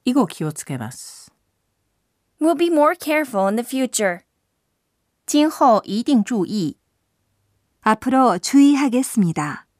以後気をつけます。 We'll be more careful in the future. 今后一定注意。앞으로 주의하겠습니다.